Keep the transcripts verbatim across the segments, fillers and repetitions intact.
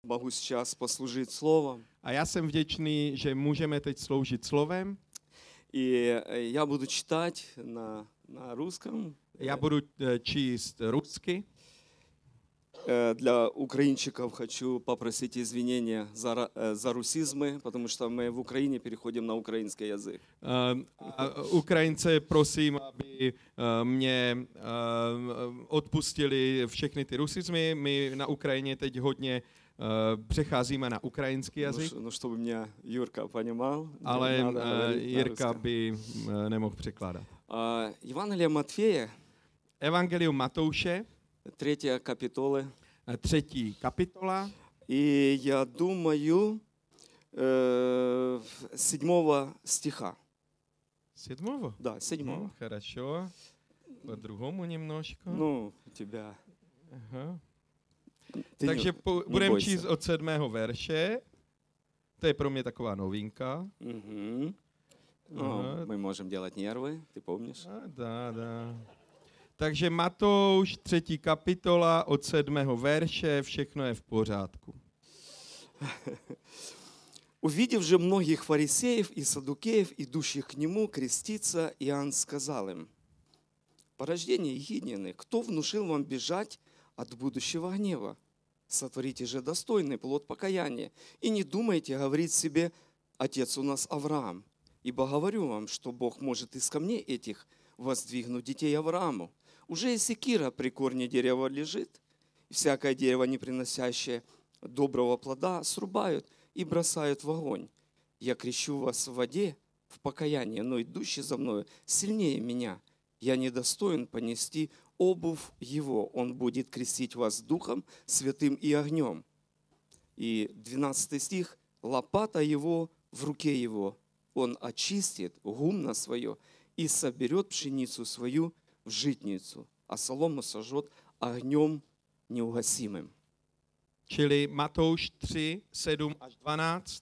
могу сейчас послужить словом. A já jsem vděčný, že můžeme teď sloužit slovem. И я буду читать на, на русском. Já budu eh, číst rusky. Э, Для украинчиков хочу попросить извинения за, ра- э, за русизмы, потому что мы в Украине переходим на украинский язык. Eh, a Ukrajince prosím, aby eh, mě eh, odpustili všechny ty rusizmy. My na Ukrajině teď hodně eh, přecházíme na ukrajinský Ну, jazyk, ш- ну, чтобы меня Юрка понимал, мне ale надо eh, говорить на Jirka русском. by eh, nemohl překládat. А, Евангелие Матфея, Evangelium Matouše, третья капитола. eh, třetí kapitola, И я думаю, э, седьмого стиха. sedmovo. Да, седьмого. No, хорошо. По другому немножко. Ну, у тебя. Aha. Ty Takže не- po, не budeme бойся. číst od sedmého verše. To je pro mě taková novinka. Мгм. Ну, Ага. мы можем делать нервы, ты помнишь? A dá, dá. Takže Matouš, třetí kapitola, od sedmého verše, všechno je v pořádku. Увидев же многих фарисеев и саддукеев, идущих к нему креститься, Иоанн сказал им: «Порождение ехиднины, кто внушил вам бежать от будущего гнева? Сотворите же достойный плод покаяния, и не думайте говорить себе: Отец у нас Авраам. Ибо говорю вам, что Бог может из камней этих воздвигнуть детей Аврааму. Уже и секира при корне дерева лежит, и всякое дерево, не приносящее доброго плода, срубают и бросают в огонь. Я крещу вас в воде, в покаяние, но идущий за мною сильнее меня. Я недостоин понести обувь его. Он будет крестить вас Духом Святым и огнем». И двенадцатый стих. «Лопата его в руке его. Он очистит гумно свое и соберет пшеницу свою в житницу, а солому сожжет огнем неугасимым». Čili Matouš tři, sedm až dvanáct.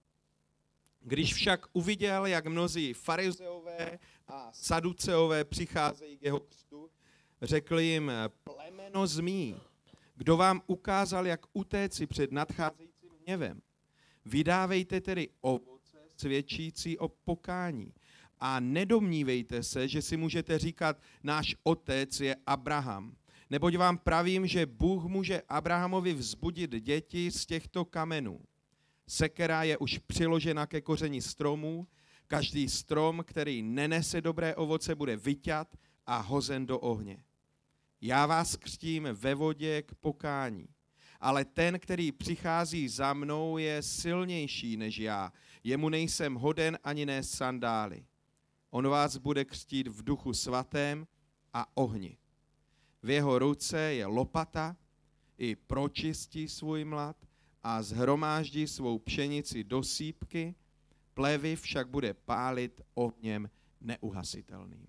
Když však uviděl, jak mnozí farizeové a saduceové přicházejí k jeho křtu, řekl jim: plemeno zmí, kdo vám ukázal, jak utéci před nadcházejícím hněvem. Vydávejte tedy ovoce svědčící o pokání a nedomnívejte se, že si můžete říkat: náš otec je Abraham. Neboť vám pravím, že Bůh může Abrahamovi vzbudit děti z těchto kamenů. Sekera je už přiložena ke kořeni stromů, každý strom, který nenese dobré ovoce, bude vyťat a hozen do ohně. Já vás křtím ve vodě k pokání, ale ten, který přichází za mnou, je silnější než já. Jemu nejsem hoden ani nést sandály. On vás bude křtít v Duchu Svatém a ohni. V jeho ruce je lopata, i pročistí svůj mlad a zhromáždí svou pšenici do sýpky, plevy však bude pálit ohněm neuhasitelným.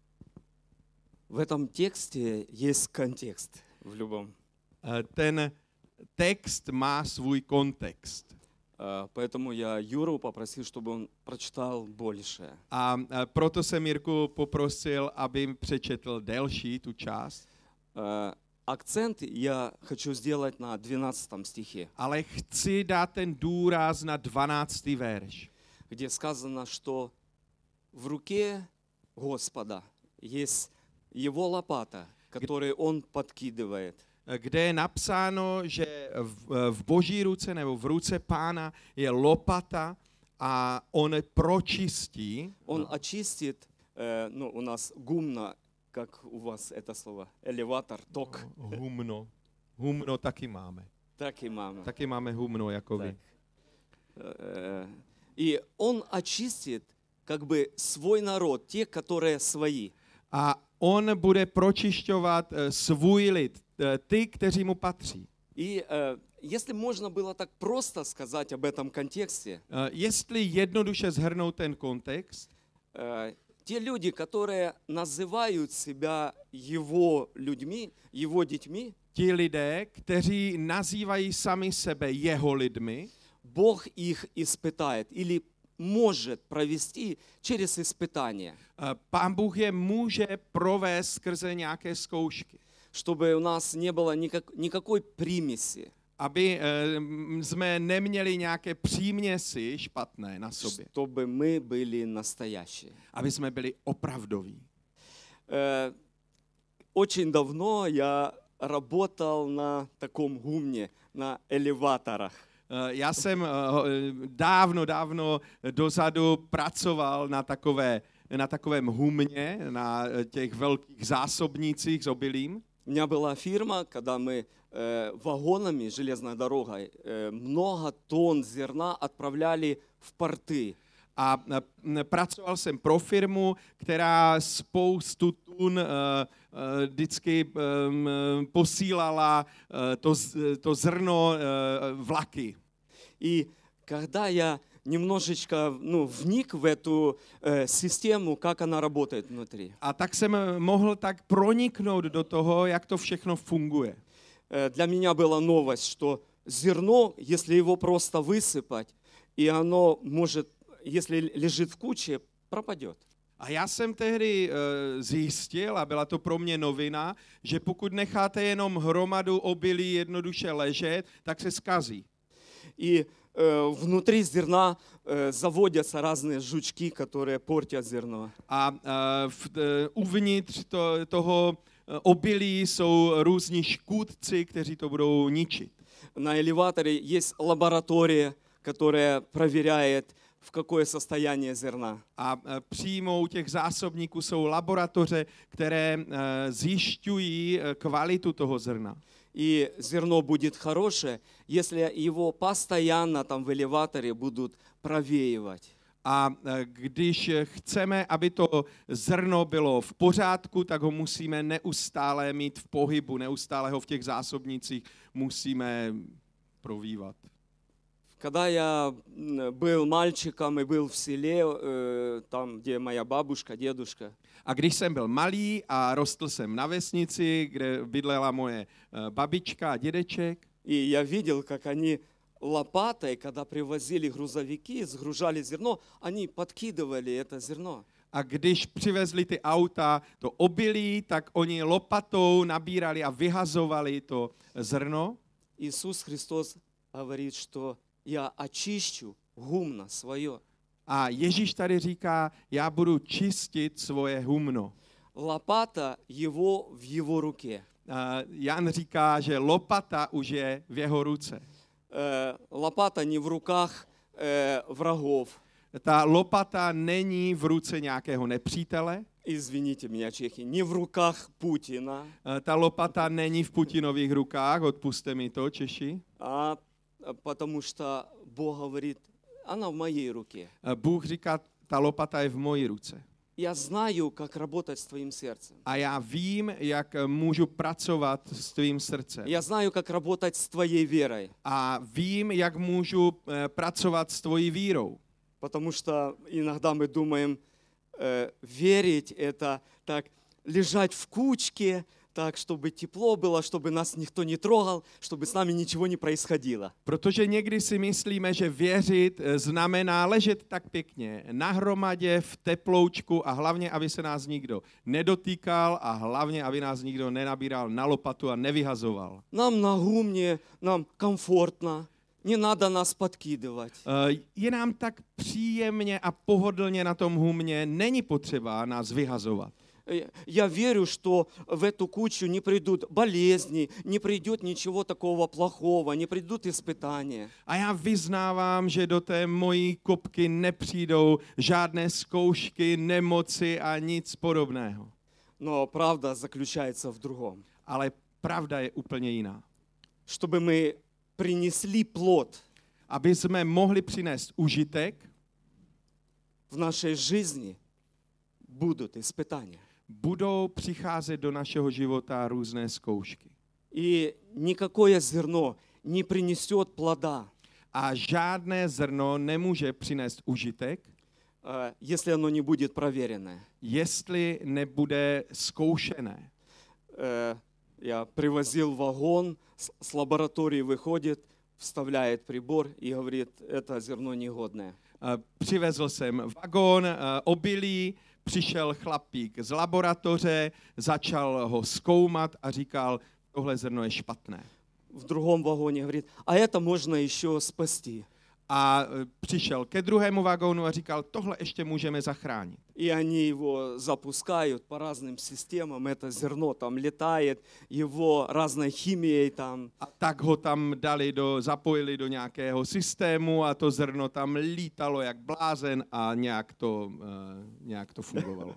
В этом тексте есть контекст в любом. Eh, Ten text má svůj kontext. А, Поэтому я Юру попросил, чтобы он прочитал больше. A eh, proto jsem Jirku poprosil, aby přečetl delší tu část. А, Акцент я хочу сделать на двенадцатом стихе, Ale chci dát ten důraz na dvanáctý verš, где сказано, что в руке Господа есть его лопата, которую он подкидывает. kde je napsáno, že v, v boží ruce nebo v ruce Pána je lopata a on pročistí. Он очистит, э, ну, у нас гумно, как у вас это слово, элеватор, ток, Humno. Humno taky máme. так и мама. Taky máme humno jako vy. Так. Э, И он очистит как бы свой народ, те, которые свои. A on bude pročišťovat eh, svůj lid, eh, ty, kteří mu patří. И э, если можно было так просто сказать об этом контексте, Eh, Jestli jednoduše zhrnout ten kontext, э, те люди, которые называют себя его людьми, его детьми, ti lidé, kteří nazývají sami sebe jeho lidmi, Бог их испытает или может провести через испытания, eh, Pán Bůh je může provést skrze nějaké zkoušky, чтобы у нас не было никак, никакой примеси. aby eh, jsme neměli nějaké příměsi špatné na sobě. чтобы мы были настоящие. Aby jsme byli opravdoví. Э, Очень давно я работал на таком гумне, на элеваторах. Eh, Já jsem eh, dávno, dávno dozadu pracoval na takové, na takovém humně, na eh, těch velkých zásobnících s obilím. У меня была фирма, когда мы э, вагонами, железной дорогой, э, много тонн зерна отправляли в порты. A eh, pracoval jsem pro firmu, která spoustu tun eh, eh, vždycky eh, posílala eh, to, z- to zrno eh, vlaky. И когда я немножечко ну, вник в эту э, систему, как она работает внутри, A tak jsem mohl tak proniknout do toho, jak to všechno funguje. э, для меня была новость, что зерно, если его просто высыпать, и оно может, если лежит в куче, пропадет. A já jsem tehdy uh, zjistil, a byla to pro mě novina, že pokud necháte jenom hromadu obilí jednoduše ležet, tak se skazí. И э, внутри зерна э, заводятся разные жучки, которые портят зерно. A uh, v, uh, uvnitř to, toho uh, obilí jsou různí škůdci, kteří to budou ničit. На элеваторе есть лаборатория, которая проверяет, в какое состояние зерна. A uh, přímo u těch zásobníků jsou laboratoře, které uh, zjišťují uh, kvalitu toho zrna. И зерно будет хорошее, если его постоянно там в элеваторе будут провеивать. A e, když chceme, aby to zrno bylo v pořádku, tak ho musíme neustále mít v pohybu, neustále ho v těch zásobnících musíme provývat. Когда я м, был мальчиком и был в селе, э, там, где моя бабушка, дедушка, A když jsem byl malý a rostl jsem na vesnici, kde bydlela moje e, babička a dědeček, и я видел, как они лопатой, когда привозили грузовики, сгружали зерно, они подкидывали это зерно. a když přivezli ty auta, to obilí, tak oni lopatou nabírali a vyhazovali to zrno. Иисус Христос говорит, что я очищу гумно свое. A Ježíš tady říká, já budu čistit svoje humno. Лопата его в его руке. Uh, Jan říká, že lopata už je v jeho ruce. Э, Лопата не в руках э, врагов. Ta lopata není v ruce nějakého nepřítele, Извините меня, чехи, не в руках Путина, uh, ta lopata není v Putinových rukách, odpuste mi to, Češi. а потому что Бог говорит, она в моей руке. Uh, Bůh říká, ta lopata je v mojí ruce. Я знаю, как работать с твоим сердцем. A já vím, jak můžu pracovat s tvým srdcem. Я знаю, как работать с твоей верой. A vím, jak můžu eh, pracovat s tvojí vírou. Потому что иногда мы думаем, э, верить это так, лежать в кучке, так, чтобы тепло было, чтобы нас никто не трогал, чтобы с нами ничего не происходило. Protože někdy si myslíme, že věřit eh, znamená ležet tak pěkně na hromadě v teploučku a hlavně, aby se nás nikdo nedotýkal a hlavně, aby nás nikdo nenabíral na lopatu a nevyhazoval. Нам на гумне, нам комфортно, не надо нас подкидывать. Eh, Je nám tak příjemně a pohodlně na tom humně, není potřeba nás vyhazovat. Э, Я верю, что в эту кучу не придут болезни, не придет ничего такого плохого, не придут испытания. A já vyznávám, že do té mojí kopky nepřijdou žádné zkoušky, nemoci a nic podobného. Но правда заключается в другом. Ale pravda je úplně jiná. Чтобы мы принесли плод Aby jsme mohli přinést užitek, в нашей жизни, будут испытания. budou přicházet do našeho života různé zkoušky. И никакое зерно не принесет плода, A žádné zrno nemůže přinést užitek, э, если оно не будет проверенное. jestli nebude zkoušené. Э, Я привозил вагон, с с лаборатории выходит, вставляет прибор и говорит, это зерно негодное. Eh, Přivezl jsem vagón, eh, obilí, přišel chlapík z laboratoře, začal ho zkoumat a říkal, tohle zrno je špatné. в другом вагоне, говорит, а это можно еще спасти. A e, přišel ke druhému vagónu a říkal, tohle ještě můžeme zachránit. И они его запускают по разным системам, это зерно там летает, его разной химией там. A tak ho tam dali do, zapojili do nějakého systému a to zrno tam lítalo jak blázen a nějak to, uh, nějak to fungovalo.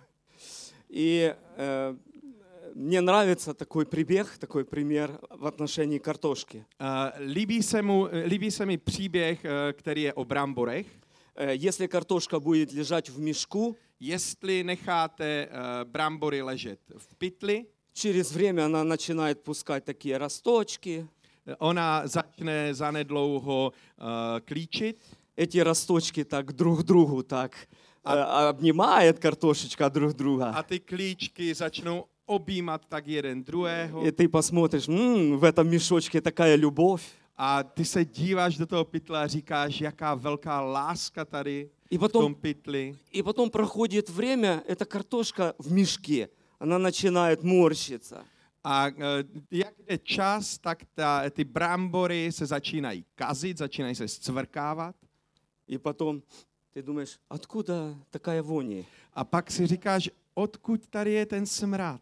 И э, мне нравится такой прибег, такой пример в отношении картошки. Uh, líbí, se mu, líbí se mi příběh, uh, který je o bramborech. Э, Если картошка будет лежать в мешку, Jestli necháte uh, brambory ležet v pytli, через время она начинает пускать такие росточки. ona začne zanedlouho uh, klíčit. Эти росточки так друг к другу так э, обнимает картошечка друг друга. A ty klíčky začnou objímat tak jeden druhého. И ты посмотришь, «М, в этом мешочке такая любовь. A ty se díváš do toho pytle a říkáš, jaká velká láska tady И v tom потом, pytli. и потом проходит время, эта картошка в мешке, она начинает морщиться. A eh, jak jde čas, tak ta, ty brambory se začínají kazit, začínají se zcvrkávat. И потом ты думаешь, откуда такая вонь? A pak si říkáš, odkud tady je ten smrad?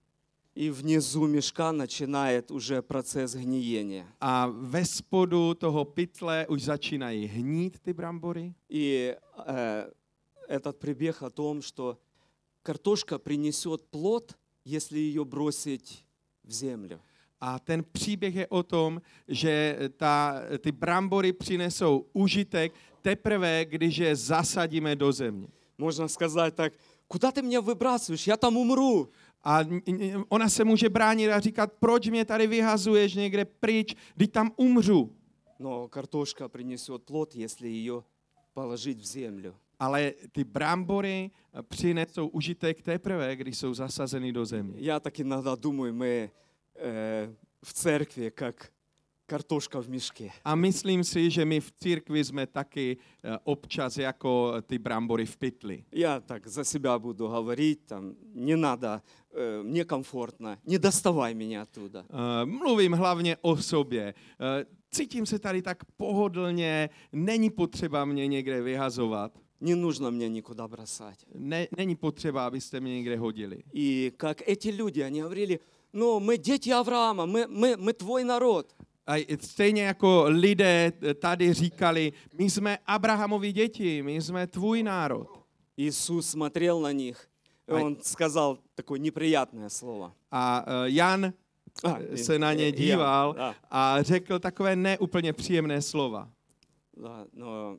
И внизу мешка начинает уже процесс гниения. A ve spodu toho pytle už začínají hnít ty brambory. И э, этот прибег о том, что картошка принесет плод, если ее бросить в землю. A ten příběh je o tom, že ta, ty brambory přinesou užitek teprve, když je zasadíme do země. Можно сказать так, куда ты меня выбрасываешь, я там умру. A ona se může bránit a říkat, proč mě tady vyhazuješ někde pryč, když tam umřu. Но картошка принесет плод, если ее положить в землю. Ale ty brambory přinesou užitek teprve, když jsou zasazeny do země. Я так иногда думаю, мы э, в церкви как картошка в мешке. A myslím si, že my v církvi jsme taky eh, občas jako ty brambory v pytli. Я так за себя буду говорить, там, не надо, э, мне комфортно, не доставай меня оттуда. Uh, mluvím hlavně o sobě. Uh, cítím se tady tak pohodlně, není potřeba mě někde vyhazovat. Не нужно мне никуда бросать. Ne, není potřeba, abyste mě někde hodili. И как эти люди, они говорили, ну, мы дети Авраама, мы, мы, мы твой народ. A stejně jako lidé tady říkali, my jsme Abrahamovi děti, my jsme tvůj národ. Иисус смотрел на них, и Ай. он сказал такое неприятное слово. A uh, Jan А, se na ně я- díval да, a řekl takové neúplně příjemné slova. да, но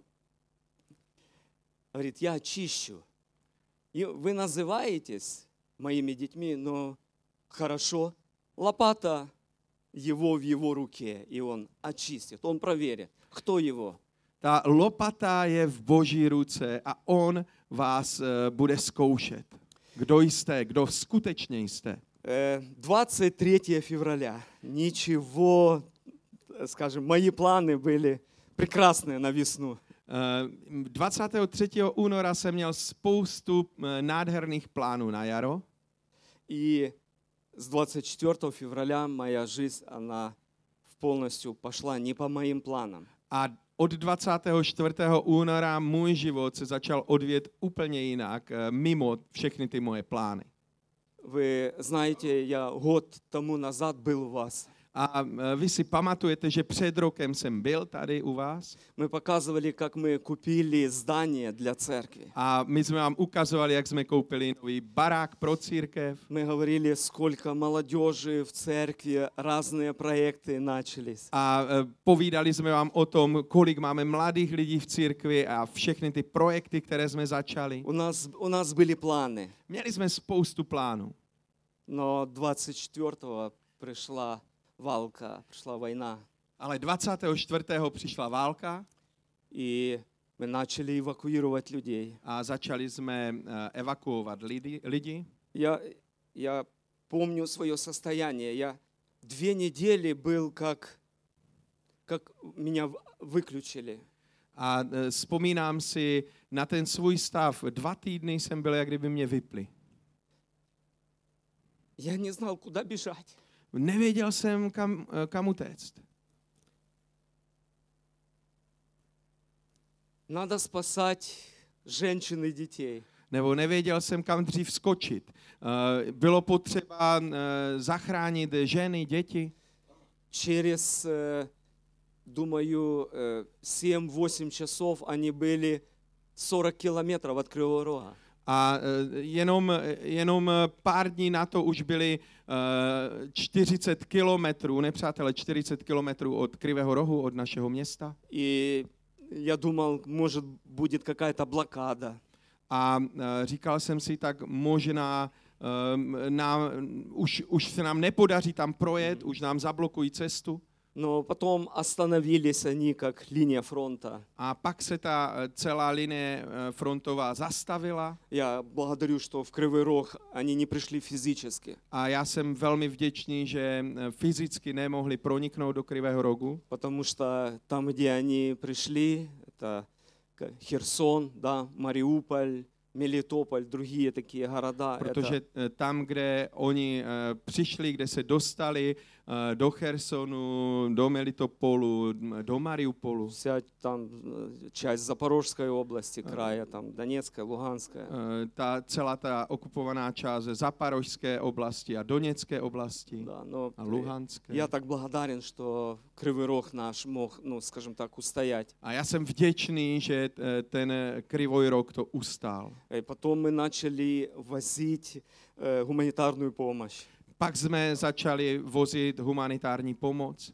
говорит, я очищу. И вы называетесь моими детьми, но хорошо, лопата его в его руке, и он очистит, он проверит, кто его. Ta lopata je v Boží ruce a on vás uh, bude zkoušet. Kdo jste, kdo skutečně jste. Э, двадцать третьего февраля. Ничего, э, скажем, мои планы были прекрасные на весну. Uh, dvacátého třetího února jsem měl spoustu uh, nádherných plánů na jaro. И с двадцать четвёртого февраля моя жизнь, она полностью пошла не по моим планам. A od dvacátého čtvrtého února můj život se začal odvět úplně jinak, uh, mimo všechny ty moje plány. Вы знаете, я год тому назад был у вас. A uh, vy si pamatujete, že před rokem jsem byl tady u vás Мы показывали, как мы купили здание для церкви. a my jsme vám ukazovali, jak jsme koupili nový barák pro církev. Мы говорили, сколько молодежи в церкви, разные проекты начались. A uh, povídali jsme vám o tom, kolik máme mladých lidí v církvi a všechny ty projekty, které jsme začali. У нас, у нас были планы, Měli jsme spoustu plánů. но двадцать четвёртого пришла валка, пришла война. Ale dvacátého čtvrtého přišla válka И мы начали эвакуировать людей. a začali jsme uh, evakuovat lidi. lidi. Я, я помню свое состояние. Я две недели был, как, как меня в- выключили. A uh, vzpomínám si na ten svůj stav. Dva týdny jsem byl, jak kdyby mě vypli. Я не знал, куда бежать. Nevěděl jsem, kam, kam utéct. Надо спасать женщин и детей. Nebo nevěděl jsem, kam dřív skočit. Uh, bylo potřeba uh, zachránit ženy, děti. Через, э, думаю, э, семь-восемь часов они были сорок километров от Кривого Рога. A uh, jenom, jenom pár dní na to už byly uh, čtyřicet kilometrů, nepřátelé, čtyřicet kilometrů od Krivého Rohu, od našeho města. И я думал, может, будет какая-то блокада. A uh, říkal jsem si, tak možná um, nám, už, už se nám nepodaří tam projet, už nám zablokují cestu. Но потом остановились они как линия фронта. A pak se ta uh, celá linie uh, frontová zastavila. Я благодарю, что в Кривой Рог они не пришли физически. A já jsem velmi vděčný, že uh, fyzicky nemohli proniknout do Krivého Rogu. Потому что там, где они пришли, это к- Херсон, да, Мариуполь, Мелитополь, другие такие города. Protože Это, eh, tam, kde oni eh, přišli, kde se dostali eh, do Chersonu, do Melitopolu, m, do Mariupolu, вся там э, часть Запорожской области, края, там Донецкая, Луганская. eh, ta celá ta okupovaná část Zaparožské oblasti a Doněcké oblasti Да, но a э, Luhanské. я так благодарен, что Кривый Рог наш мог, ну, скажем так, устоять. A já jsem vděčný, že eh, ten Krivoj Rog to ustál. И потом мы начали возить э, гуманитарную помощь. Pak jsme začali vozit humanitární pomoc.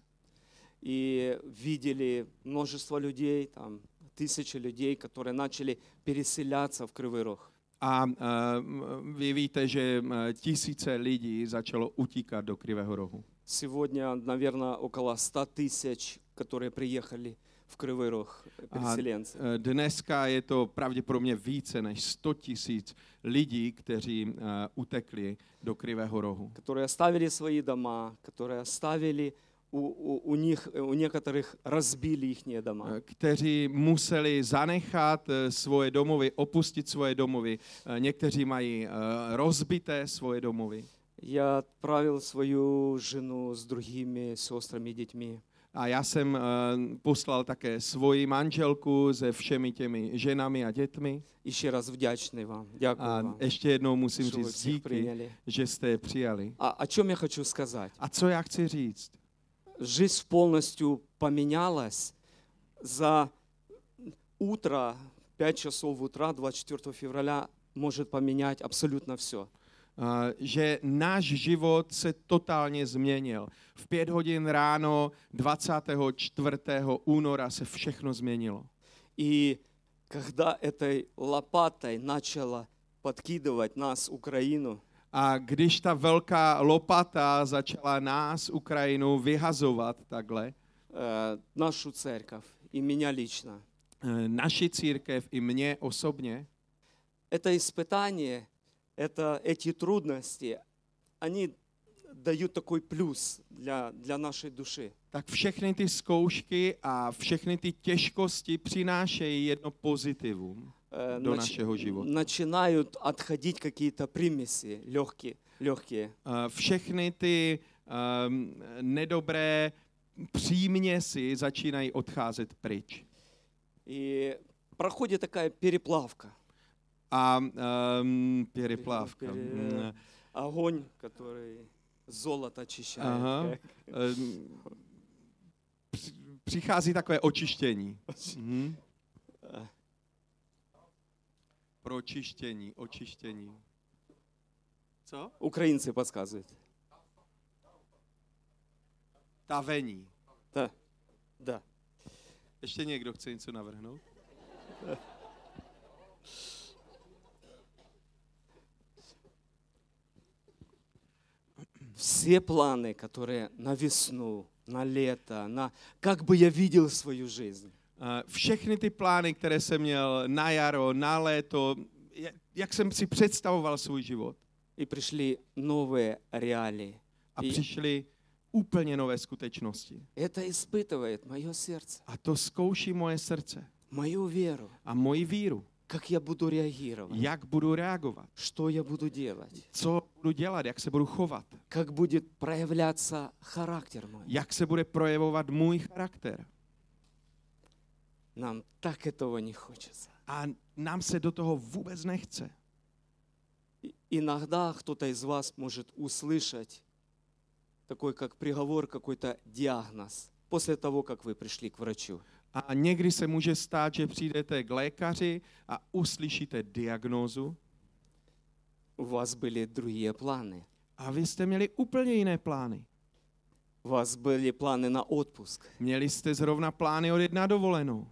И видели множество людей, там тысячи людей, которые начали переселяться в Кривый Рог. A uh, vy víte, že uh, tisíce lidí začalo utíkat do Krivého Rohu. Сегодня, наверное, около ста тысяч, которые приехали в Кривый Рог, A переселенцы. uh, dneska je to pravděpodobně více než sto tisíc lidí, kteří uh, utekli do Krivého Rohu. Которые оставили свои дома, которые оставили, у, у, у них, у некоторых разбили их дома. Uh, kteří museli zanechat uh, svoje domovy, opustit svoje domovy. Uh, někteří mají uh, rozbité svoje domovy. Я отправил свою жену с другими сестрами и детьми. A já jsem uh, poslal také svoji manželku se všemi těmi ženami a dětmi. Еще раз вдячный вам. Дякую A вам, ještě jednou musím что вы říct всех díky, приняли. že jste je přijali. А о чем я хочу сказать? A co já chci říct? Жизнь полностью поменялась за утро, пять часов утра, двадцать четвёртого февраля, может поменять абсолютно все. Uh, že náš život se totálně změnil. V pět hodin ráno dvacátého čtvrtého února se všechno změnilo. И когда этой лопатой начала подкидывать нас, Украину, A když ta velká lopata začala nás, Ukrajinu, vyhazovat takhle, э, нашу церковь и меня лично, uh, naši církev i mě osobně, это испытание, это, эти трудности, они дают такой плюс для, для нашей души. tak všechny ty zkoušky a všechny ty těžkosti přinášejí jedno pozitivum Э, do нач- našeho života. начинают отходить какие-то примеси легкие, легкие. Uh, všechny ty um, nedobré příměsi začínají odcházet pryč. И проходит такая переплавка. A um, переплавка. Пере- Mm, Огонь, который золото очищает. Aha. Um, při- přichází takové očištění. Mhm. Pročištění, očištění. Co? Украинцы подсказывают. Tavení. Да, да. Ještě někdo chce něco navrhnout? Все планы, которые на весну, на лето, на как бы я видел свою жизнь, Uh, všechny ty plány, které jsem měl na jaro, na léto, jak, jak jsem si představoval svůj život. и пришли новые реалии. A И přišly úplně nové skutečnosti. это испытывает мое сердце, A to zkouší moje srdce мою веру. a moji víru. как я буду реагировать, jak budu reagovat, что я буду делать, co budu dělat, jak se budu chovat, как будет проявляться характер мой. jak se bude projevovat můj charakter. Нам так этого не хочется. A nám se do toho vůbec nechce. И- Иногда кто-то из вас может услышать такой, как приговор, какой-то диагноз после того, как вы пришли к врачу. A někdy se může stát, že přijdete k lékaři a uslyšíte diagnózu У вас были другие планы. a vy jste měli úplně jiné plány. У вас были планы на отпуск. Měli jste zrovna plány odjet na dovolenou.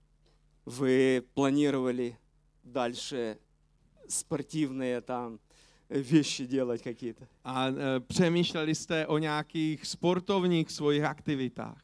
Вы планировали дальше спортивные там э, вещи делать какие-то. A e, přemýšleli jste o nějakých sportovních svých aktivitách.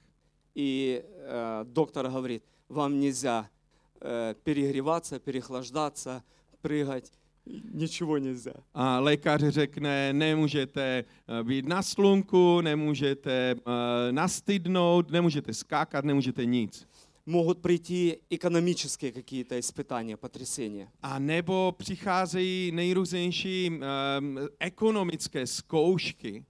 И э, доктор говорит, вам нельзя э, перегреваться, переохлаждаться, прыгать. Ничего нельзя. A lékař řekne, nemůžete e, být na slunku, nemůžete e, nastydnout, nemůžete skákat, nemůžete nic. Могут прийти экономические какие-то испытания, потрясения. A nebo přicházejí nejrůznější e, ekonomické zkoušky.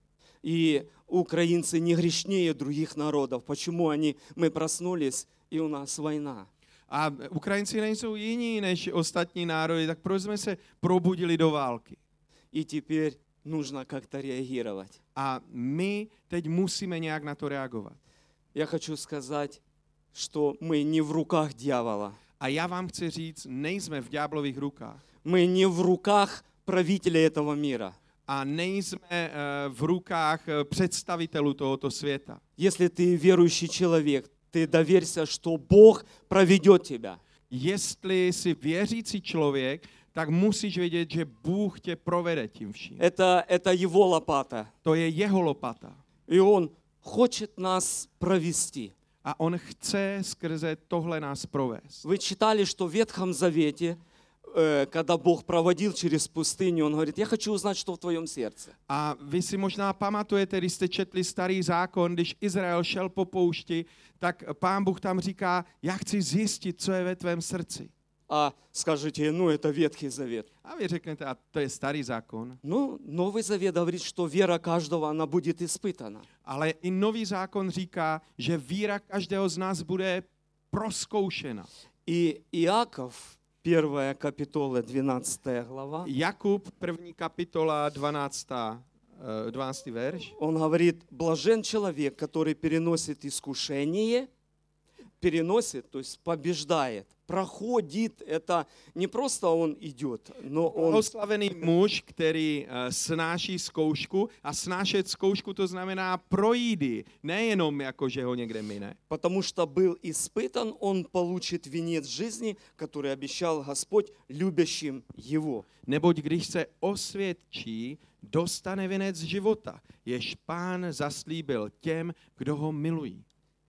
И украинцы не грешнее других народов. Почему они, мы проснулись, и у нас война? A Ukrajinci nejsou jiní než ostatní národy, tak proč jsme se probudili do války? И теперь нужно как-то реагировать. A my teď musíme nějak na to reagovat. Я хочу сказать, что мы не в руках дьявола. A já vám chci říct, nejsme v ďáblových rukách. Мы не в руках правителя этого мира. A nejsme eh, v rukách eh, představitelů tohoto světa. Если ты верующий человек, ты доверься, что Бог проведет тебя. Jestli jsi věřící člověk, tak musíš vědět, že Bůh tě provede tím vším. Это, это Его лопата. To je jeho lopata. И Он хочет нас провести. A on chce skrze tohle nás provést. Вы читали, что в Ветхом Завете, э, когда Бог проводил через пустыню, Он говорит, я хочу узнать, что в твоем сердце. A vy si možná pamatujete, když jste četli starý zákon, když Izrael šel po poušti, tak Pán Bůh tam říká, já chci zjistit, co je ve tvém srdci. А скажете, ну это Ветхий Завет. A vy řeknete, a to je starý zákon. Ну, Новый Завет говорит, что вера каждого, она будет испытана. Ale i nový zákon říká, že víra každého z nás bude proskoušena. И Иаков, первая капитула, двенадцатая глава, Jakub, první kapitola, dvanáctá, eh, dvanáctý verš. он говорит, блажен человек, который переносит искушение, переносит, то есть побеждает, проходит, это не просто он идет, но он Oslavený muž, který eh, snáší zkoušku, a snášet zkoušku to znamená projít, nejenom jako, že ho někde mine. потому что был испытан, он получит венец жизни, который обещал Господь любящим его. Neboť když se osvědčí, dostane věnec života, jež Pán zaslíbil těm, kdo ho milují.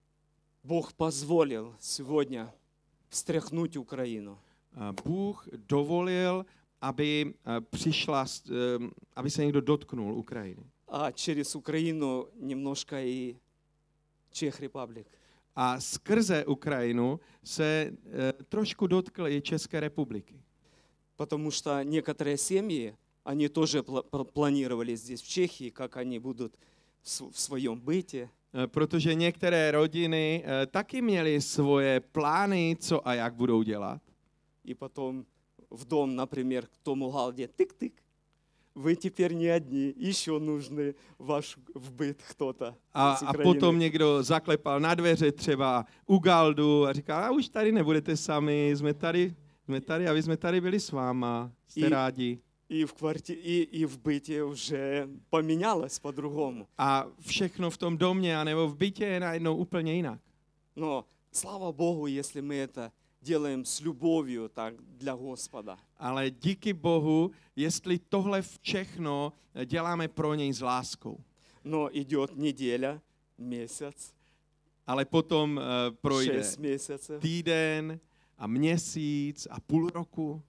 Бог позволил сегодня встряхнуть Украину. A Bůh dovolil, aby eh, přišla, s- eh, aby se někdo dotknul Ukrajiny. А через Украину немножко и Чех Репаблик. A skrze Ukrajinu se eh, trošku dotkl i České republiky. Потому что некоторые семьи, они тоже пла- пла- планировали здесь, в Чехии, как они будут в с- в своем быте. Eh, Protože některé rodiny eh, taky měly svoje plány, co a jak budou dělat. И потом в дом, например, к тому галде, тык-тык. Вы теперь не одни, еще нужны ваш в быт кто-то A, из a Украины. potom někdo zaklepal na dveře třeba u Galdu a říkal, a už tady nebudete sami, jsme tady, jsme tady a vy jsme tady byli s váma, jste I- rádi. И в, кварти... и, и в быте уже поменялось по-другому. A všechno v tom domě anebo v bytě je najednou úplně jinak. Но слава Богу, если мы это делаем с любовью так для Господа. Ale díky Bohu, jestli tohle všechno děláme pro něj s láskou. Но идет неделя, месяц, Ale potom uh, projde шесть месяцев týden a měsíc a půl roku,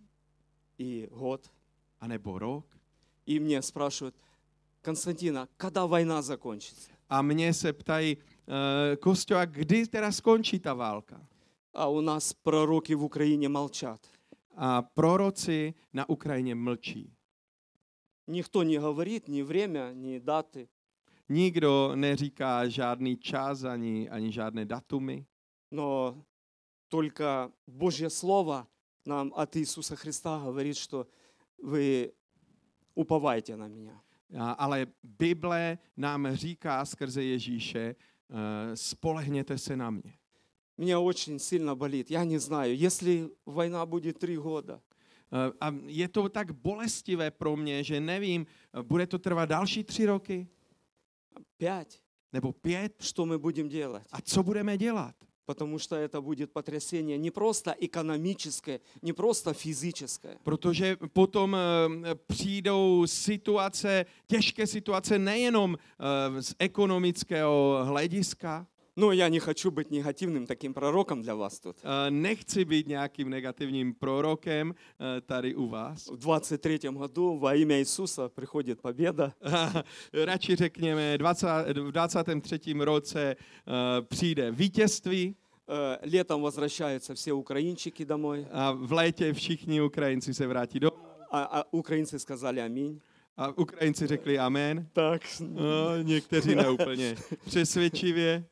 и год. anebo rok. И мне спрашивают, Константина, когда война закончится? A mě se ptají, uh, Kostyo, a kdy teda skončí ta válka? А у нас пророки в Украине молчат. a proroci na Ukrajině mlčí. Никто не говорит ни время, ни даты. Nikdo neříká žádný čas ani, ani žádné datumy, Но только Божье Слово нам от Иисуса Христа говорит, что вы уповайте на меня. a, ale Bible nám říká skrze Ježíše, uh, spolehněte se na mě. Меня очень сильно болит. Я не знаю, если война будет три года, Uh, a je to tak bolestivé pro mě, že nevím, uh, bude to trvat další tři roky пять, nebo pět что мы будем делать? a co budeme dělat? Потому что это будет потрясение не просто экономическое, не просто физическое. Protože potom uh, přijdou situace, těžké situace nejenom uh, z ekonomického hlediska. Но я не хочу быть негативным таким пророком для вас тут. Uh, nechci být nějakým negativním prorokem uh, tady u vás. В двадцать третьем году во имя Иисуса приходит победа. Radši řekněme, dvacátém v dvacátém třetím roce uh, přijde vítězství Э, Летом возвращаются все украинчики домой. a v létě všichni Ukrajinci se vrátí domů. А, а украинцы сказали аминь. A Ukrajinci řekli amen. Так. No, někteří neúplně přesvědčivě.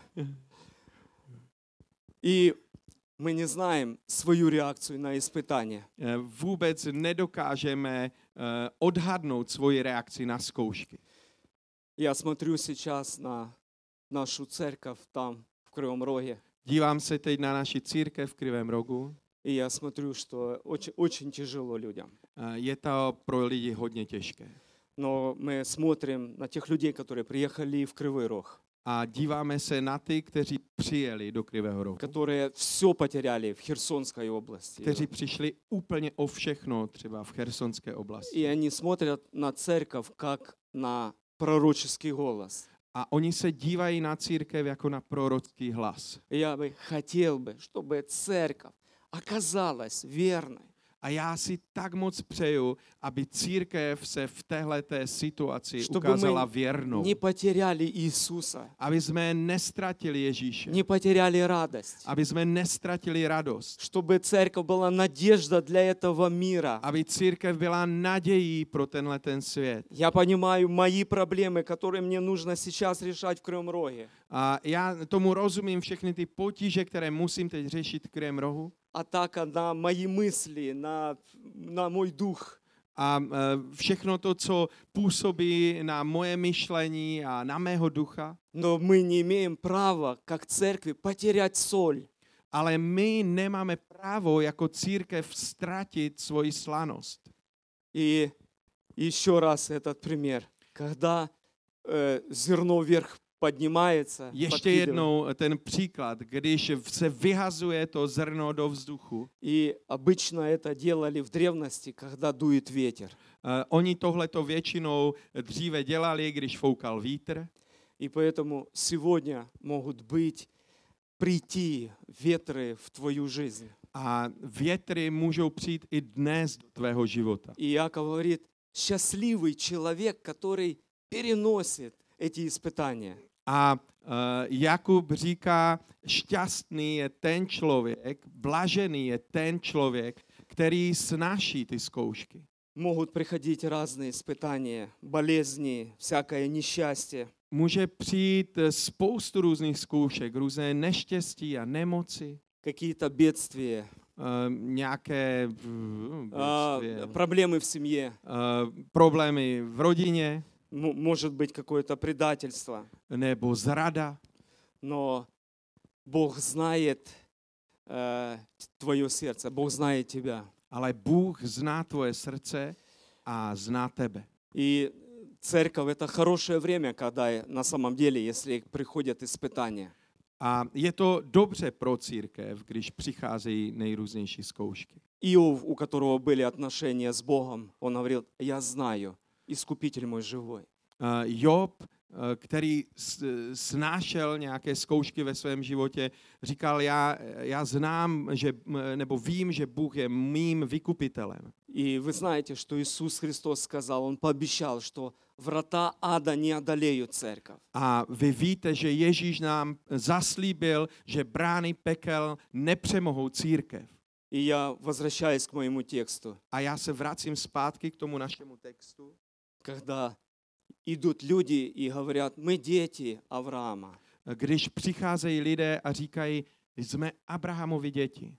И мы не знаем свою реакцию на испытание. Eh, Vůbec nedokážeme eh, odhadnout svoji reakci na zkoušky. Я смотрю сейчас на нашу церковь там, в Кривом Роге. Dívám se teď na naši církev v Krivém rogu. И я смотрю, что очень, очень тяжело людям. Eh, Je to pro lidi hodně těžké. Но мы смотрим на тех людей, которые приехали в Кривой Рог, A díváme se na ty, kteří přijeli do Krivého rohu. которые все потеряли в Херсонской области. Kteří přišli úplně o všechno, třeba v Chersonské oblasti. И они смотрят на церковь как на пророческий голос. A oni se dívají na církev jako na prorocký hlas. И я бы хотел бы, чтобы церковь оказалась верной. A já si tak moc přeju, aby církev se v téhleté situaci Чтобы ukázala мы věrnou. не потеряли Иисуса, Aby jsme nestratili Ježíše. не потеряли радость. Aby jsme nestratili radost. Чтобы церковь была надежда для этого мира. Aby církev byla nadějí pro tenhle ten svět. Я понимаю мои проблемы, которые мне нужно сейчас решать в Кривом Роге. A já tomu rozumím, všechny ty potíže, které musím teď řešit v Krivém rohu. Атака на мои мысли, на, на мой дух. A e, všechno to, co působí na moje myšlení a na mého ducha. Но мы не имеем права, как церкви, потерять соль. Ale my nemáme právo jako církev ztratit svoji slanost. И еще раз этот пример. Когда э, зерно вверх поднимается, Ještě подкидывает, jednou ten příklad, když se vyhazuje to zrno do vzduchu. и обычно это делали в древности, когда дует ветер. Uh, oni tohleto většinou dříve dělali, když foukal vítr. И поэтому сегодня могут быть, прийти ветры в твою жизнь. A větry můžou přijít i dnes do tvého života. И Иаков говорит, счастливый человек, который переносит эти испытания. A uh, Jakub říká, šťastný je ten člověk, blažený je ten člověk, který snáší ty zkoušky. Могут приходить разные испытания, болезни, всякое несчастье. Může přijít spoustu různých zkoušek, různé neštěstí a nemoci, Какие-то бедствия, uh, nějaké uh, а, bědství, проблемы в семье, uh, problémy v rodině м- может быть какое-то предательство. nebo zrada. Но Бог знает э, твое сердце, Бог знает тебя. Ale Bůh zná tvoje srdce a zná tebe. И церковь — это хорошее время, когда на самом деле, если приходят испытания. A je to dobře pro církev, když přicházejí nejrůznější zkoušky. Иов, у которого были отношения с Богом, он говорил, я знаю, Искупитель мой живой. Uh, Job, uh, který s- snášel nějaké zkoušky ve svém životě, říkal, já, já znám, že, nebo vím, že Bůh je mým vykupitelem. И вы знаете, что Иисус Христос сказал, Он пообещал, что врата ада не одолеют церковь. A vy víte, že Ježíš nám zaslíbil, že brány pekel nepřemohou církev. И я возвращаюсь к моему тексту. A já se vracím zpátky k tomu našemu textu, Когда идут люди и говорят, мы дети Авраама. když přicházejí lidé a říkají, jsme Abrahamovi děti.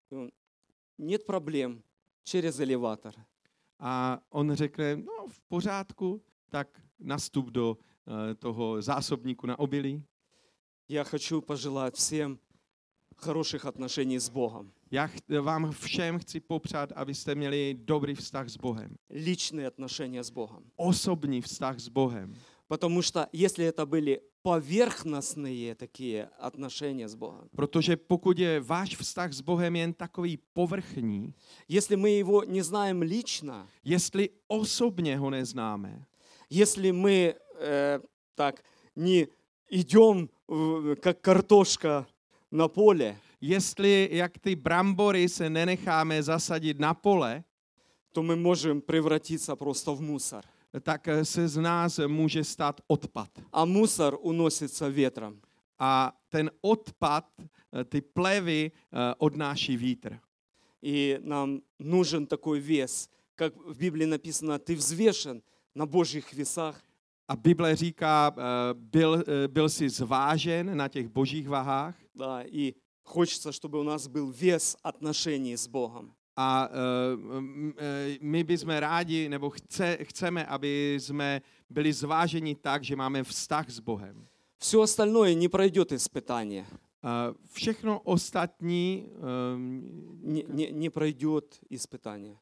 Нет проблем, через элеватор. A on řekne, no v pořádku, tak nastup do uh, toho zásobníku na obilí. Я хочу пожелать всем хороших отношений с Богом. Já ch- vám všem chci popřát, abyste měli dobrý vztah s Bohem. Личные отношения с Богом. Osobní vztah s Bohem. Потому что если это были поверхностные такие отношения с Богом, Protože pokud je váš vztah s Bohem jen takový povrchní, если мы Его не знаем лично, jestli osobně ho neznáme, если мы э, так не идем э, как картошка на поле, jestli jak ty brambory se nenecháme zasadit na pole, то мы можем превратиться просто в мусор. tak se z nás může stát odpad. А мусор уносится ветром. A ten odpad, ty plevy odnáší vítr. И нам нужен такой вес, как в Библии написано, ты взвешен на Божьих весах. A Bible říká, byl, byl jsi zvážen na těch božích vahách. Да, и хочется, чтобы у нас был вес отношений с Богом. A uh, my bychom rádi, nebo chce, chceme, aby jsme byli zváženi tak, že máme vztah s Bohem. Все остальное не пройдет испытание, Uh, všechno ostatní um, не, не, не пройдет испытание.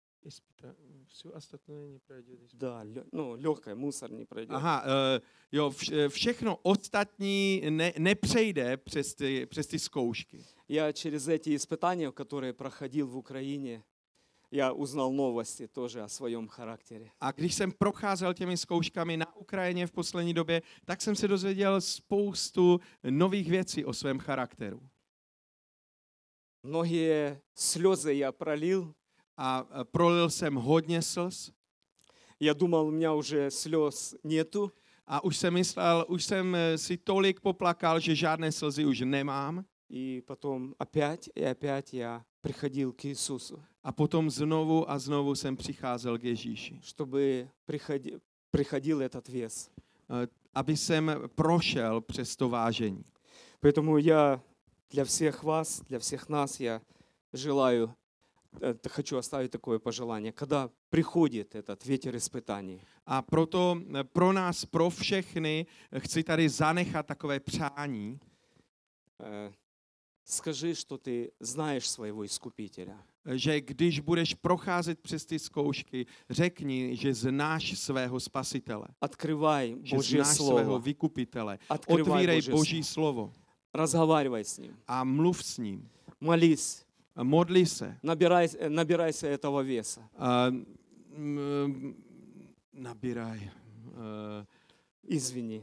Все ostatní neprojde. Да, лё- ну, легкое, мусор не пройдет. Aha, uh, jo, vš- všechno ostatní ne, nepřejde přes ty, přes ty zkoušky. Я через эти испытания, которые проходил в Украине, я узнал новости тоже о своем характере. A když jsem procházel těmi zkouškami na Ukrajině v poslední době, tak jsem se dozvěděl spoustu nových věcí o svém charakteru. Многие слезы я пролил. A uh, prolil jsem hodně slz Я думал, у меня уже слез нету. a už jsem myslel, už jsem eh, si tolik poplakal, že žádné slzy už nemám. И потом опять и опять я приходил к Иисусу, A potom znovu a znovu jsem přicházel k Ježíši, чтобы приходи- приходил этот вес. eh, aby jsem prošel přes to vážení. Поэтому я для всех вас, для всех нас, я желаю, это, хочу оставить такое пожелание, когда приходит этот ветер испытаний, A proto eh, pro nás, pro všechny, eh, chci tady zanechat takové přání, э, скажи, что ты знаешь своего Искупителя. eh, že když budeš procházet přes ty zkoušky, řekni, že znáš svého spasitele, Открывай že Божье znáš svého Слово, vykupitele. открывай Otvírej Божье Boží Слово, slovo разговаривай с Ним, a mluv s ním. молись, A modli se. набирай, э, набирайся этого веса. A, mm, nabíraj. Uh, Извини.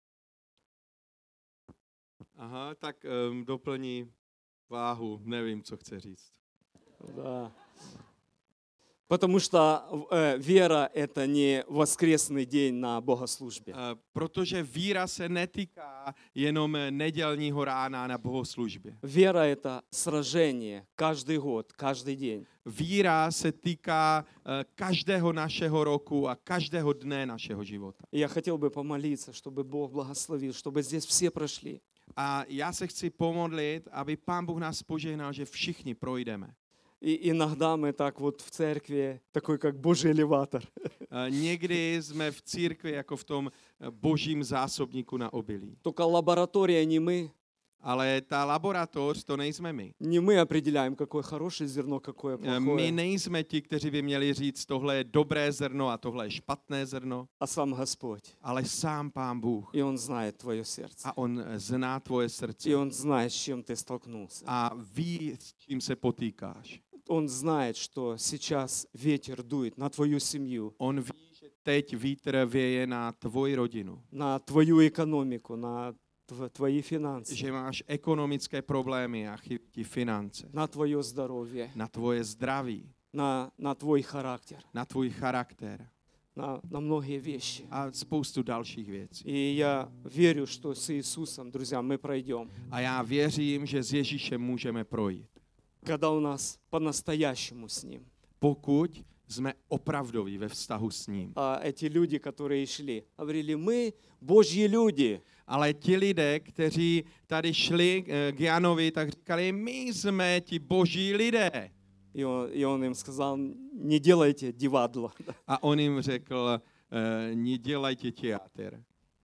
aha, tak um, doplní váhu. Nevím, co chce říct. Да. Потому что э, вера – это не воскресный день на богослужбе. Uh, protože víra se netýká jenom nedělního rána na bohoslužbě. Вера – это сражение каждый год, каждый день. Víra se týká uh, každého našeho roku a každého dne našeho života. И я хотел бы помолиться, чтобы Бог благословил, чтобы здесь все прошли. A já se chci pomodlit, aby Pán Bůh nás požehnal, že všichni projdeme. И иногда мы так вот в церкви, такой как Божий элеватор. Uh, někdy jsme v církvi jako v tom uh, božím zásobníku na obilí. Только лаборатория не мы. Ale ta laboratoř, to nejsme my. Не мы определяем, какое хорошее зерно, какое Uh, my плохое, nejsme ti, kteří by měli říct, tohle je dobré zrno a tohle je špatné zrno, а сам Господь. ale sám Pán Bůh. И Он знает твое сердце. A on zná tvoje srdce И Он знает, с чем ты столкнулся. a ví, s čím se potýkáš. Он знает, что сейчас ветер дует на твою семью, On ví, že teď vítr věje na tvoji rodinu, на твою экономику, на тв- твои финансы, že máš ekonomické problémy a chybí ti finance, на твое здоровье, na tvoje zdraví, на, на твой характер, na tvůj charakter на, на многие вещи. a spoustu dalších věcí. И я верю, что с Иисусом, друзья, мы пройдем. A já věřím, že s Ježíšem můžeme projít. когда у нас по-настоящему с Ним. Pokud jsme opravdoví ve vztahu s ním. А эти люди, которые шли, говорили, мы Божьи люди. Ale ti lidé, kteří tady šli eh, k Janovi, tak říkali, my jsme ti boží lidé. И он, и он им сказал, не делайте дивадло. A on jim řekl, eh, nedělejte teatr.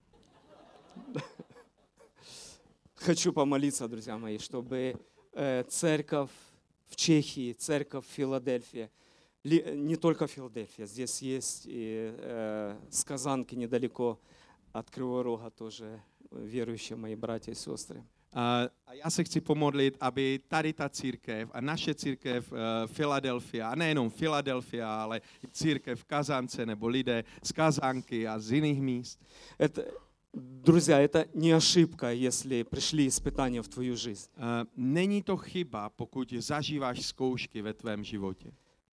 Хочу помолиться, друзья мои, чтобы э, церковь в Чехии, церковь в Филадельфии, ли, не только Филадельфия, здесь есть и э, с Казанки недалеко от Кривого Рога тоже верующие мои братья и сестры. A já se chci pomodlit, aby tady ta církev a naše církev uh, Filadelfia, a nejenom Filadelfia, ale i církev v Kazance nebo lidé z Kazanky a z jiných míst. Это, друзья, это не ошибка, если пришли испытания в твою жизнь. Uh, není to chyba, pokud zažíváš zkoušky ve tvém životě.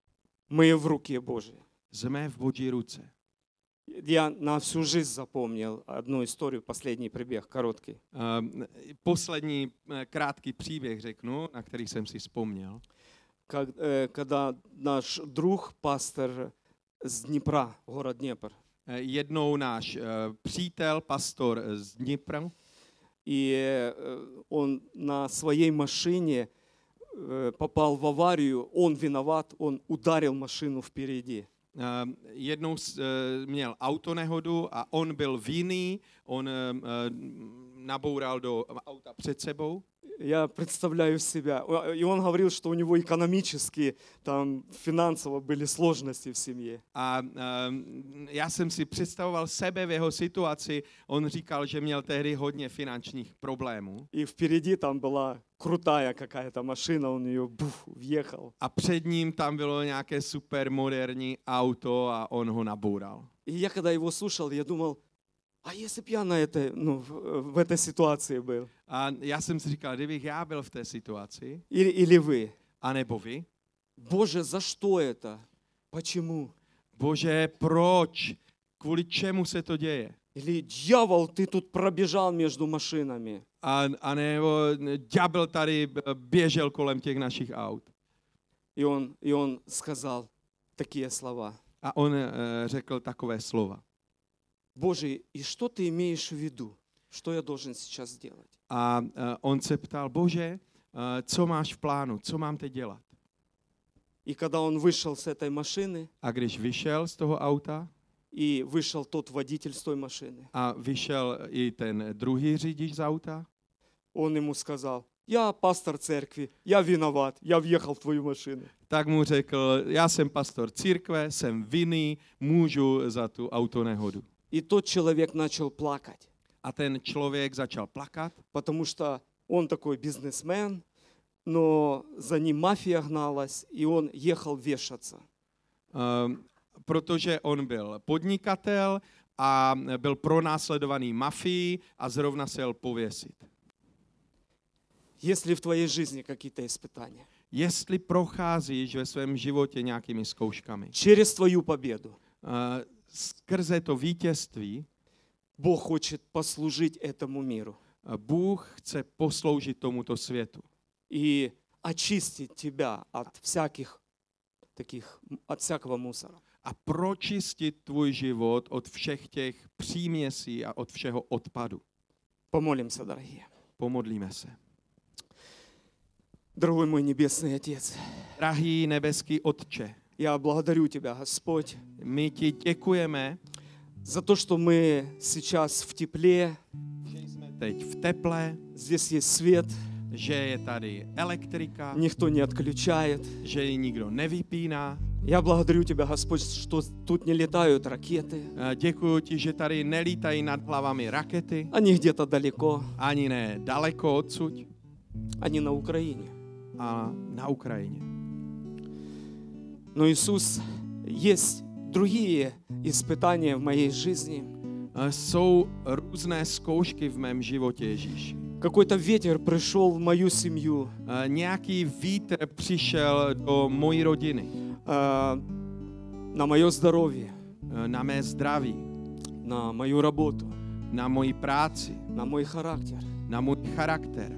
Мы в руке Божьей. Jsme v Boží ruce. Я на всю жизнь запомнил одну историю, последний прибег, короткий. Uh, poslední uh, krátký příběh řeknu, na který jsem si vzpomněl. Как, э, когда наш друг, пастор с Днепра, город Днепр, Uh, jednou náš uh, přítel, pastor z Dnipra, и э, он на своей машине э, попал в аварию, он виноват, он ударил машину впереди. Uh, jednou uh, měl autonehodu a on byl vinný, on uh, uh, naboural do auta před sebou. Я представляю себя. И он говорил, что у него экономически, там, финансово были сложности в семье. A uh, já jsem si představoval sebe v jeho situaci. On říkal, že měl tehdy hodně finančních problémů. И впереди там была крутая какая-то машина, он ее буф, въехал. A před ním tam bylo nějaké super moderní auto a on ho naboural. И я когда его слушал, я думал, а если бы я на этой, ну, в, в этой ситуации был? A já jsem si říkal, kdybych já byl v té situaci, Или, или вы? anebo vy, Боже, за что это? Почему? Bože, proč? Kvůli čemu se to děje? Или дьявол, ты тут пробежал между машинами. A, a nebo ďábel tady běžel kolem těch našich aut. И он, и он сказал такие слова. A on uh, řekl takové slova. Боже, и что ты имеешь в виду? Что я должен сейчас сделать? A uh, on se ptal, Bože, uh, co máš v plánu, co mám teď dělat? И когда он вышел с этой машины, A když vyšel z toho auta и вышел тот водитель с той машины, a vyšel i ten druhý řidič z auta, он ему сказал, я пастор церкви, я виноват, я въехал в твою машину. tak mu řekl, já jsem pastor církve, jsem vinný, můžu za tu autonehodu. И тот человек начал плакать, A ten člověk začal plakat, потому что он такой бизнесмен, но за ним мафия гналась, и он ехал вешаться. um, protože on byl podnikatel a byl pronásledovaný mafií a zrovna se jel pověsit. Если в твоей жизни какие-то испытания, Jestli procházíš ve svém životě nějakými zkouškami, через твою победу, uh, skrze to vítězství, Бог хочет послужить этому миру uh, Bůh chce posloužit tomuto světu и очистить тебя от всяких таких, от всякого мусора. a pročistit tvůj život od všech těch příměsí a od všeho odpadu. Помолимся, дорогие. Pomodlíme se. Дорогой мой Небесный Отец, Drahý nebeský Otče, я благодарю Тебя, Господь, my ti děkujeme, за то, что мы сейчас в тепле, že jsme teď v teple, здесь есть свет, že je tady elektrika, никто не отключает. že ji nikdo nevypíná. Я благодарю Тебя, Господь, что тут не летают ракеты, A děkuji ti, že tady nelítají nad hlavami rakety, они где-то далеко, ani ne daleko odsud, они на Украине. a na Ukrajině. Но, Иисус, есть другие испытания в моей жизни. A jsou různé zkoušky v mém životě, Ježíši. Какой-то ветер пришел в мою семью, A nějaký vítr přišel do mojí rodiny, а, на мое здоровье, na mé zdraví, на мою работу, na moji práci, на мой характер. na můj charakter.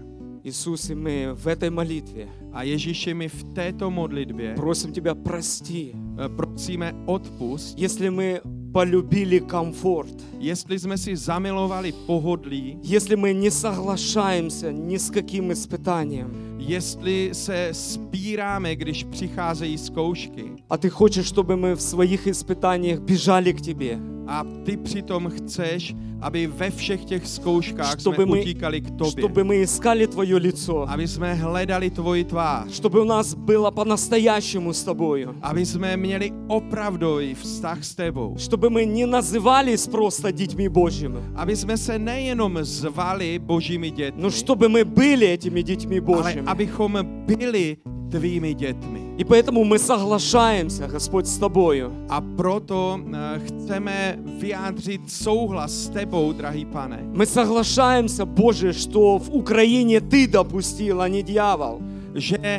Иисус, и мы в этой молитве A Ježíši, my v této modlitbě просим Тебя, прости, eh, prosíme odpust, если мы полюбили комфорт, jestli jsme si zamilovali pohodlí, если мы не соглашаемся ни с каким испытанием, jestli se spíráme, když přicházejí zkoušky а Ты хочешь, чтобы мы в своих испытаниях бежали к Тебе, a ty přitom chceš, aby ve všech těch zkouškách Чтобы jsme мы- utíkali k tobě, чтобы мы искали Твое лицо, aby jsme hledali tvoji tvář, чтобы у нас было по-настоящему с Тобою, aby jsme měli opravdový vztah s tebou, чтобы мы не назывались просто детьми Божьими, aby jsme se nejenom zvali božími dětmi, но чтобы мы были этими детьми ale Божьими. abychom byli tvými dětmi. И поэтому мы соглашаемся, Господь, с Тобою. A proto eh, chceme vyjádřit souhlas s tebou, drahý pane, Мы соглашаемся, Боже, что в Украине Ты допустил, а не дьявол. že eh,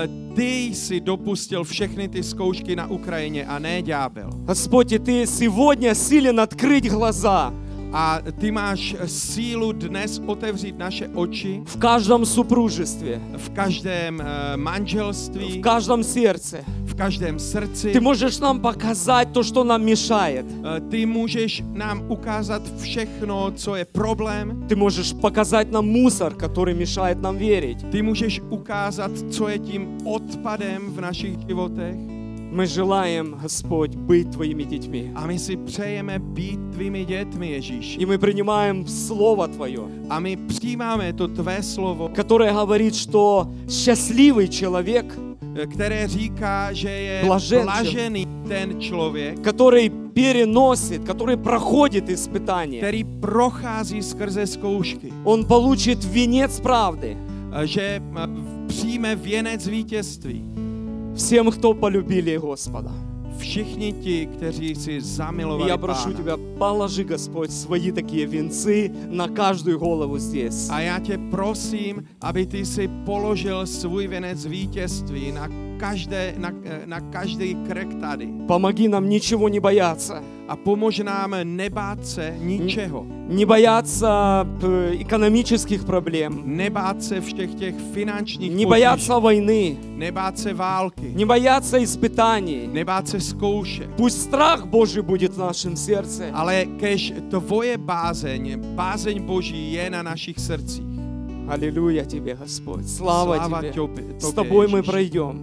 ty jsi dopustil všechny ty zkoušky na Ukrajině a ne ďábel. Господь, и Ты сегодня силен открыть глаза A ty máš sílu dnes otevřít naše oči в каждом супружестве, v každém eh, manželství, в каждом сердце. v každém srdci. Ты можешь нам показать то, что нам mешает. Eh, Ty můžeš nám ukázat všechno, co je problém. Ты можешь показать нам мусор, который mешает нам верить. Ty můžeš ukázat, co je tím odpadem v našich životech. Мы желаем, Господь, быть Твоими детьми. A my si přejeme být tvými dětmi, Ježíši. И мы принимаем Слово Твое, A my přijímáme to tvé slovo, которое говорит, что счастливый человек, které říká, že je Blažen, blažený ten člověk, который переносит, который проходит испытания, který prochází skrze zkoušky, он получит венец правды. že přijme věnec vítězství. Всем, кто полюбили Господа. Všichni ti, kteří si И zamilovali я прошу Pána. Тебя, положи, Господь, свои такие венцы на каждую голову здесь. A já tě prosím, aby ty si položil svůj věnec vítězství na, každé, na, na každý krk tady. Помоги нам ничего не бояться. A pomož nám nebát se ničeho. Не бояться п- экономических проблем. Nebát se všech těch finančních Не potíží. бояться войны. Nebát se války. Не бояться испытаний. Nebát se zkoušek. Пусть страх Божий будет в našem сердце. Ale kež tvoje bázeň, bázeň Boží je na našich srdcích. Аллилуйя Тебе, Господь. Слава Sláva Тебе. tobě, С tobě, Тобой мы Ježíši. пройдем.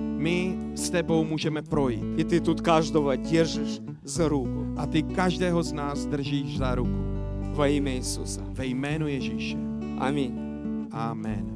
My s tebou můžeme projít. И Ты тут каждого держишь за руку. A ty každého z nás držíš za ruku. Во имя Иисуса. Ve jménu Ježíše. Аминь. Amen.